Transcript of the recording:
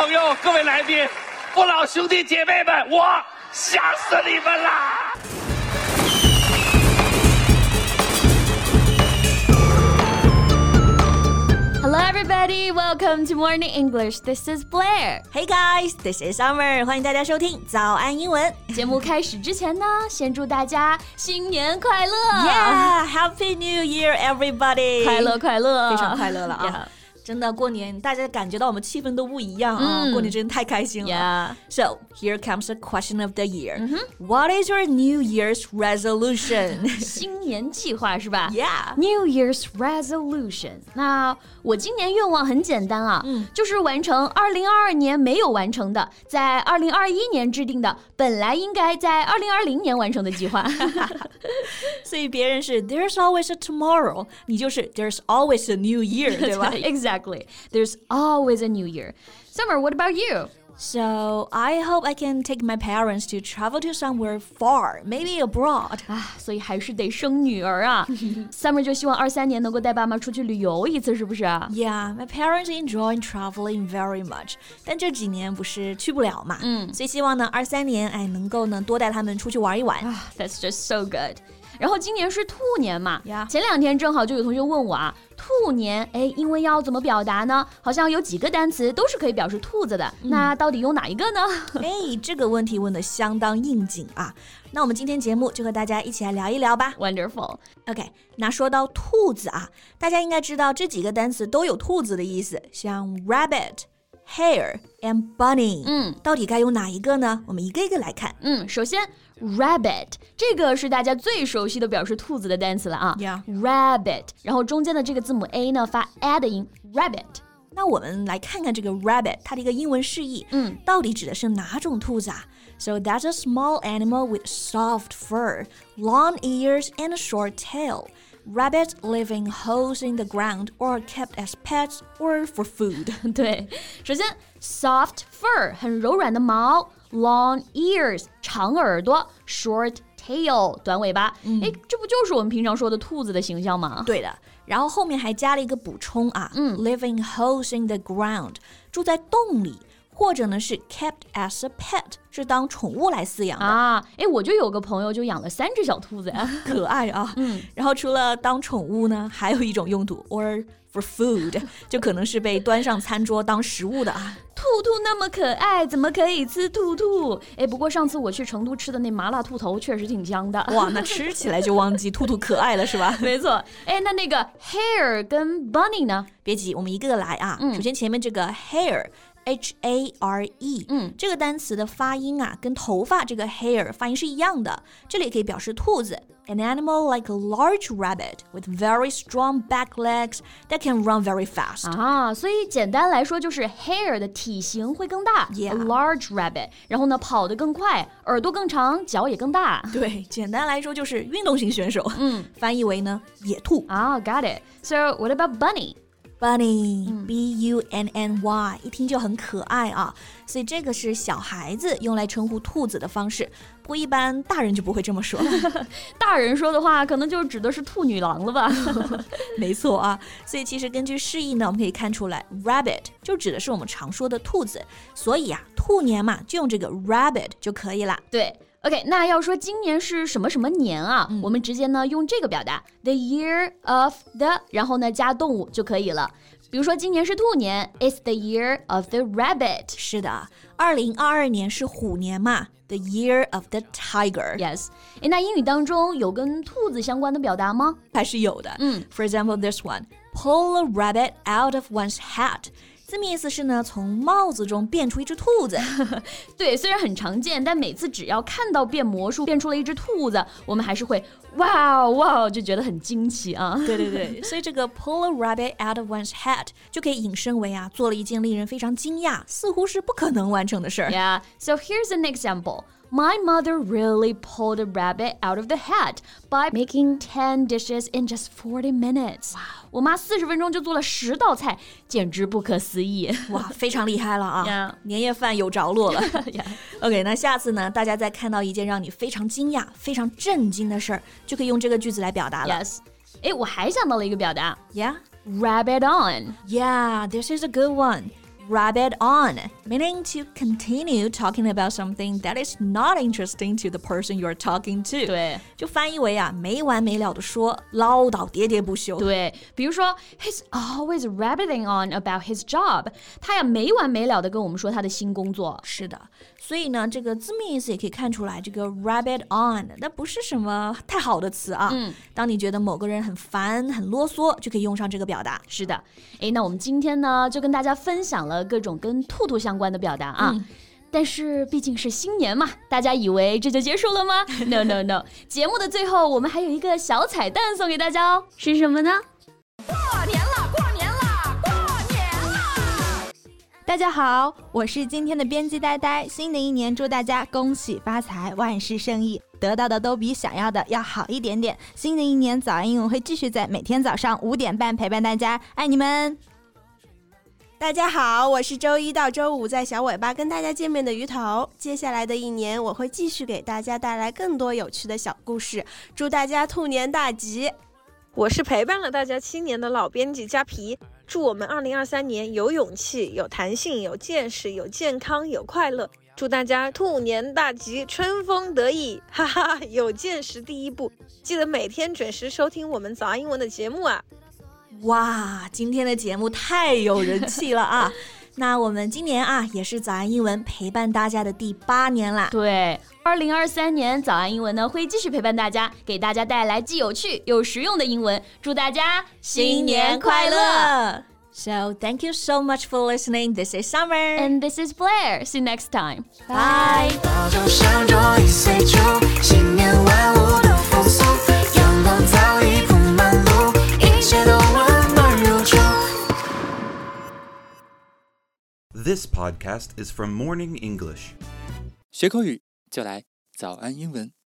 朋友，各位来宾，父老兄弟姐妹们，我想死你们啦 ！Hello everybody, welcome to Morning English. This is Blair. Hey guys, this is Summer. 欢迎大家收听早安英文。 节目开始之前呢，先祝大家新年快乐 Yeah, Happy New Year, everybody. 快乐快乐， 非常快乐了啊！ Yeah. 真的过年大家感觉到我们气氛都不一样啊，过年真的太开心了。So, here comes the question of the year. What is your New Year's resolution? 新年计划是吧 Yeah. New Year's resolution. 那我今年愿望很简单啊，就是完成2022年没有完成的，在2021年制定的，本来应该在2020年完成的计划。 所以别人是 There's always a tomorrow， 你就是 There's always a new year， 对吧 ？Exactly. There's always a new year. Summer, what about you? So, I hope I can take my parents to travel to somewhere far, maybe abroad. 所以还是得生女儿啊。Summer 就希望23年能够带爸妈出去旅游一次，是不是啊 Yeah, my parents enjoy traveling very much. 但这几年不是去不了嘛，所以希望呢23年能够呢多带他们出去玩一玩。 That's just so good. 然后今年是兔年嘛， Yeah. 前2天正好就有同学问我啊，兔年英文要怎么表达呢？好像有几个单词都是可以表示兔子的，那到底用哪一个呢？ 这个问题问得相当应景啊。那我们今天节目就和大家一起来聊一聊吧。 Wonderful. OK, 那说到兔子啊，大家应该知道这几个单词都有兔子的意思，像 rabbit、hare and bunny。到底该用哪一个呢？我们一个一个来看。 首先 rabbit 这个是大家最熟悉的表示兔子的单词了啊。 Yeah. Rabbit， 然后中间的这个字母 A 呢发 A 的音 rabbit。 那我们来看看这个 rabbit 它的一个英文释义，到底指的是哪种兔子啊？ So that's a small animal with soft fur, long ears and a short tail. Rabbits live in holes in the ground or are kept as pets or for food. 对，首先 soft fur 很柔软的毛， long ears 长耳朵， short tail 短尾巴。这不就是我们平常说的兔子的形象吗？ 对的，然后后面还加了一个补充啊，live in holes in the ground 住在洞里，或者呢是 kept as a pet 是当宠物来饲养的啊。我就有个朋友就养了3只小兔子呀， 可爱啊。然后除了当宠物呢，还有一种用途 or for food 就可能是被端上餐桌当食物的啊。 兔兔那么可爱，怎么可以吃兔兔？不过上次我去成都吃的那麻辣兔头确实挺香的。 哇，那吃起来就忘记兔兔可爱了是吧？ 没错。那个 hare 跟 bunny 呢？ 别急，我们一个个来啊。首先前面这个 hare H-A-R-E 这个单词的发音啊，跟头发这个 hair 发音是一样的，这里也可以表示兔子。An animal like a large rabbit with very strong back legs that can run very fast. 所以简单来说就是 hare 的体型会更大 Yeah. A large rabbit， 然后呢跑得更快，耳朵更长，脚也更大。 对，简单来说就是运动型选手。翻译为呢野兔。 Got it. So what about bunny?Bunny, B-U-N-N-Y 一听就很可爱啊，所以这个是小孩子用来称呼兔子的方式，不过一般大人就不会这么说。 大人说的话可能就指的是兔女郎了吧。 没错啊，所以其实根据释义呢，我们可以看出来 rabbit 就指的是我们常说的兔子，所以兔年嘛就用这个 rabbit 就可以了。 对，OK， 那要说今年是什么什么年啊，我们直接呢用这个表达 the year of the， 然后呢加动物就可以了。比如说今年是兔年 It's the year of the rabbit。 是的，2022年是虎年嘛， the year of the tiger。 Yes。 那英语当中有跟兔子相关的表达吗？ 还是有的。For example, this one, pull a rabbit out of one's hat。字面意思是呢，从帽子中变出一只兔子。 对，虽然很常见，但每次只要看到变魔术变出了一只兔子，我们还是会哇，就觉得很惊奇啊。 对对对，所以这个 pull a rabbit out of one's hat 就可以引申为做了一件令人非常惊讶，似乎是不可能完成的事儿。 Yeah, so here's an example.My mother really pulled a rabbit out of the hat by making 10 dishes in just 40 minutes. 我妈40分钟就做了10道菜，简直不可思议。 哇，非常厉害了啊！ Yeah. 年夜饭有着落了。 yeah. OK， 那下次呢，大家再看到一件让你非常惊讶、非常震惊的事儿，就可以用这个句子来表达了。 Yes. 我还想到了一个表达。 Yeah? Rabbit on. Yeah, this is a good one. rabbit on, meaning to continue talking about something that is not interesting to the person you're talking to. 对， 就翻译为没完没了的说，唠叨喋喋不休。 对，比如说 he's always rabbiting on about his job， 他呀没完没了的跟我们说他的新工作。 是的，所以呢，这个字面意思也可以看出来，这个 rabbit on 那不是什么太好的词啊。当你觉得某个人很烦、很啰嗦，就可以用上这个表达。 是的，那我们今天呢，就跟大家分享了各种跟兔兔相关的表达啊。但是毕竟是新年嘛，大家以为这就结束了吗？ No No No， 节目的最后我们还有一个小彩蛋送给大家哦，是什么呢？ 过年了，过年了，过年了！ 大家好，我是今天的编辑呆呆。新的一年祝大家恭喜发财，万事胜意，得到的都比想要的要好一点点。新的一年早安英文会继续在每天早上5点半陪伴大家，爱你们。 大家好，我是周一到周五在小尾巴跟大家见面的鱼头。接下来的一年，我会继续给大家带来更多有趣的小故事，祝大家兔年大吉。 我是陪伴了大家7年的老编辑佳皮，祝我们2023年有勇气、有弹性、有见识、有健康、有快乐，祝大家兔年大吉，春风得意，哈哈，有见识第一步，记得每天准时收听我们早安英文的节目啊。 哇，今天的节目太有人气了啊！那我们今年也是早安英文陪伴大家的第8年啦。 对，2023年早安英文呢会继续陪伴大家，给大家带来既有趣又实用的英文，祝大家新年快乐！ So thank you so much for listening. This is Summer. And this is Blair. See you next time. Bye. 早就上桌已岁除，新年万物的风俗，阳光早已铺满路，一切都温暖如初。 This podcast is from Morning English. 学口语就来早安英文。